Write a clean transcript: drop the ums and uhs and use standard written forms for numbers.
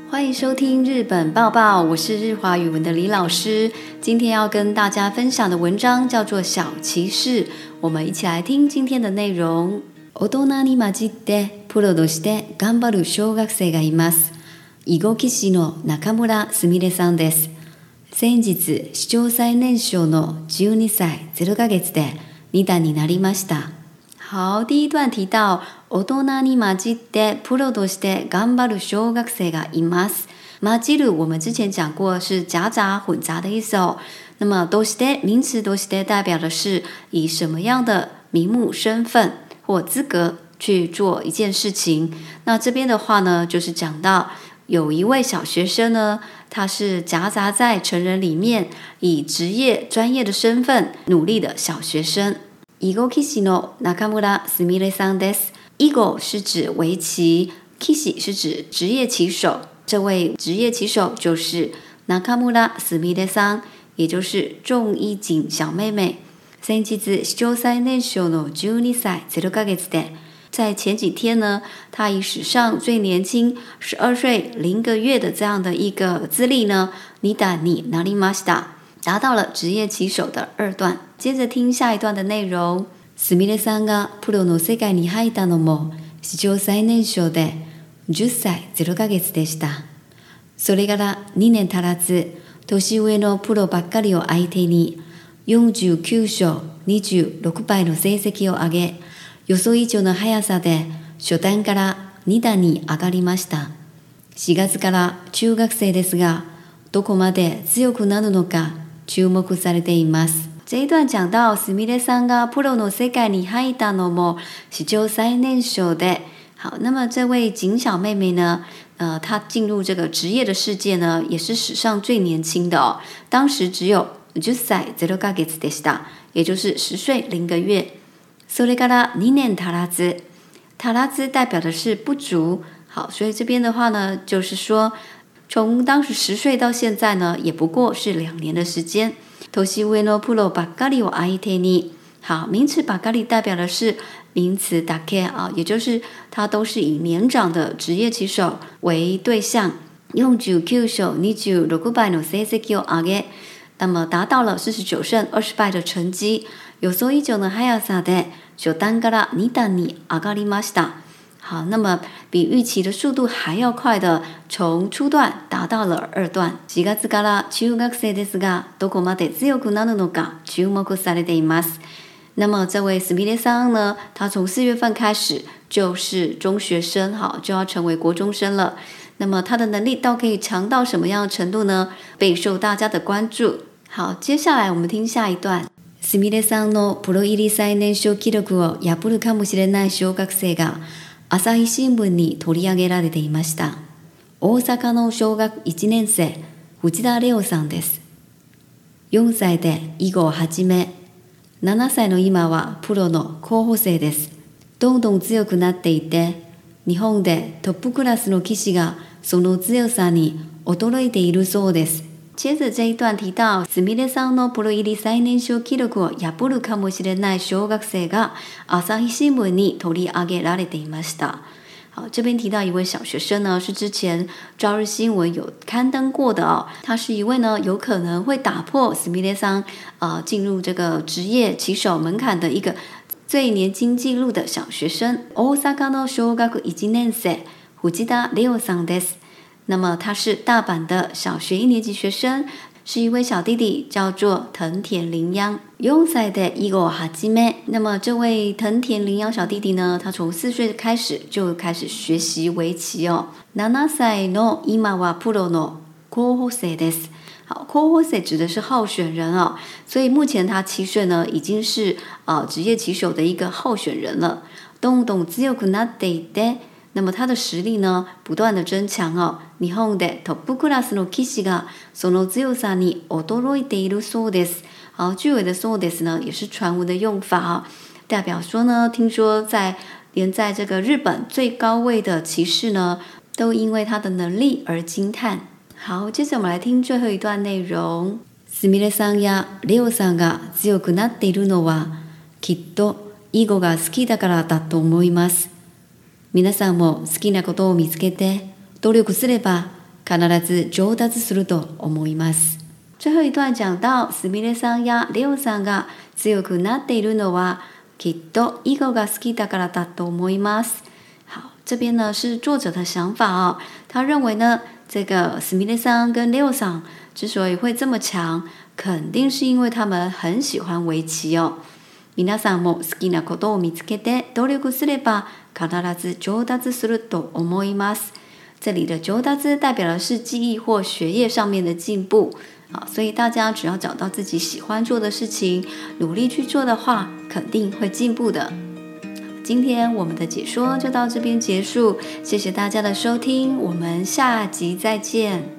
欢迎收听日本报报，我是日华语文的李老师。今天要跟大家分享的文章叫做《小骑士》，我们一起来听今天的内容。大人に混じってプロとして頑張る小学生がいます。囲碁棋士の中村すみれさんです。先日、史上最年少の12歳0ヶ月で2段になりました。好，第一段提到大人に混じってプロとして頑張る小学生がいます。混じる我们之前讲过是夹杂混杂的意思哦。那么として名词として代表的是以什么样的名目、身份或资格去做一件事情。那这边的话呢，就是講到有一位小學生呢，他是夾雜在成人裡面，以職業專業的身份努力的小學生。囲碁棋士の中村すみれさんです。囲碁是指圍棋，棋士是指職業棋手。這位職業棋手就是中村すみれさん，也就是仲一瑾小妹妹。先日史上最年少の12歳0ヶ月で，在前几天呢，她以史上最年轻12岁0个月的这样的一个资历呢，二段になりました。达到了职业棋手的2段。接着听下一段的内容。すみれさんがプロの世界に入ったのも史上最年少で10歳0ヶ月でした。それから2年足らず、年上のプロばっかりを相手に49勝26敗の成績を上げ、予想以上の速さで初段から2段に上がりました。4月から中学生ですが、どこまで強くなるのか注目されています。这一段講到すみれさんがプロの世界に入ったのも史上最年少で，好，那么这位景小妹妹呢，她进入这个职业的世界呢，也是史上最年轻的哦。当时只有10歳0ヶ月でした，也就是10岁0个月。それから2年足らず，足らず代表的是不足。好，所以这边的话呢，就是说从当时10岁到现在呢，也不过是2年的时间。年上のプロばっかりを相手に，好，名詞ばっかり代表的是名詞だけ啊，也就是它都是以年長的職業棋手為對象。49勝26敗の成績を上げ，那麼達到了49勝20敗的成績。予想以上の速さで初段から2段に上がりました。好，那么比预期的速度还要快的，从初段达到了2段。4月から中学生ですが、どこまで強くなるのか注目されています。那么这位すみれさん呢，他从4月份开始就是中学生，好，就要成为国中生了。那么他的能力到可以强到什么样的程度呢？备受大家的关注。好，接下来我们听下一段。すみれさんのプロ入り最年少記録を破るかもしれない小学生が朝日新聞に取り上げられていました。大阪の小学1年生、藤田レオさんです。4歳で囲碁を始め、7歳の今はプロの候補生です。どんどん強くなっていて、日本でトップクラスの棋士がその強さに驚いているそうです。接着这一段提到すみれさんのプロ入り最年少記録を破るかもしれない小学生が朝日新聞に取り上げられていました。好，这边提到一位小学生呢，是之前朝日新闻有刊登过的哦。他是一位呢，有可能会打破すみれさん进入这个职业棋手门槛的一个最年轻纪录的小学生。大阪の小学1年生、藤田レオさんです。那么他是大阪的小学1年级学生，是一位小弟弟，叫做藤田绫央。4歳で囲碁を始め，那么这位藤田绫央小弟弟呢，他从4岁开始就开始学习围棋哦。7歳の今はプロの候補生です。好，候補生指的是候选人哦，所以目前他7岁呢，已经是职业棋手的一个候选人了。どんどん強くなっていて。那么他的实力呢，不断的增强哦。日本でトップクラスの棋士がその強さに驚いているそうです。好，句尾的そうです呢，也是传闻的用法啊，代表说呢，听说连在这个日本最高位的棋士呢，都因为他的能力而惊叹。好，接着我们来听最后一段内容。すみれさんやレオさんが強くなっているのは、きっと囲碁が好きだからだと思います。皆さんも好きなことを見つけて努力すれば必ず上達すると思います。最後一段講到すみれさんやレオさんが強くなっているのはきっと囲碁が好きだからだと思います。好，这边呢是作者的想法哦。他认为呢，这个すみれさん跟レオさん之所以会这么強，肯定是因为他们很喜歡圍棋哦。皆さんも好きなことを見つけて努力すれば必ず上達すると思います。这里的上達代表的是记忆或学业上面的进步。好，所以大家只要找到自己喜欢做的事情，努力去做的话，肯定会进步的。今天我们的解说就到这边结束，谢谢大家的收听，我们下集再见。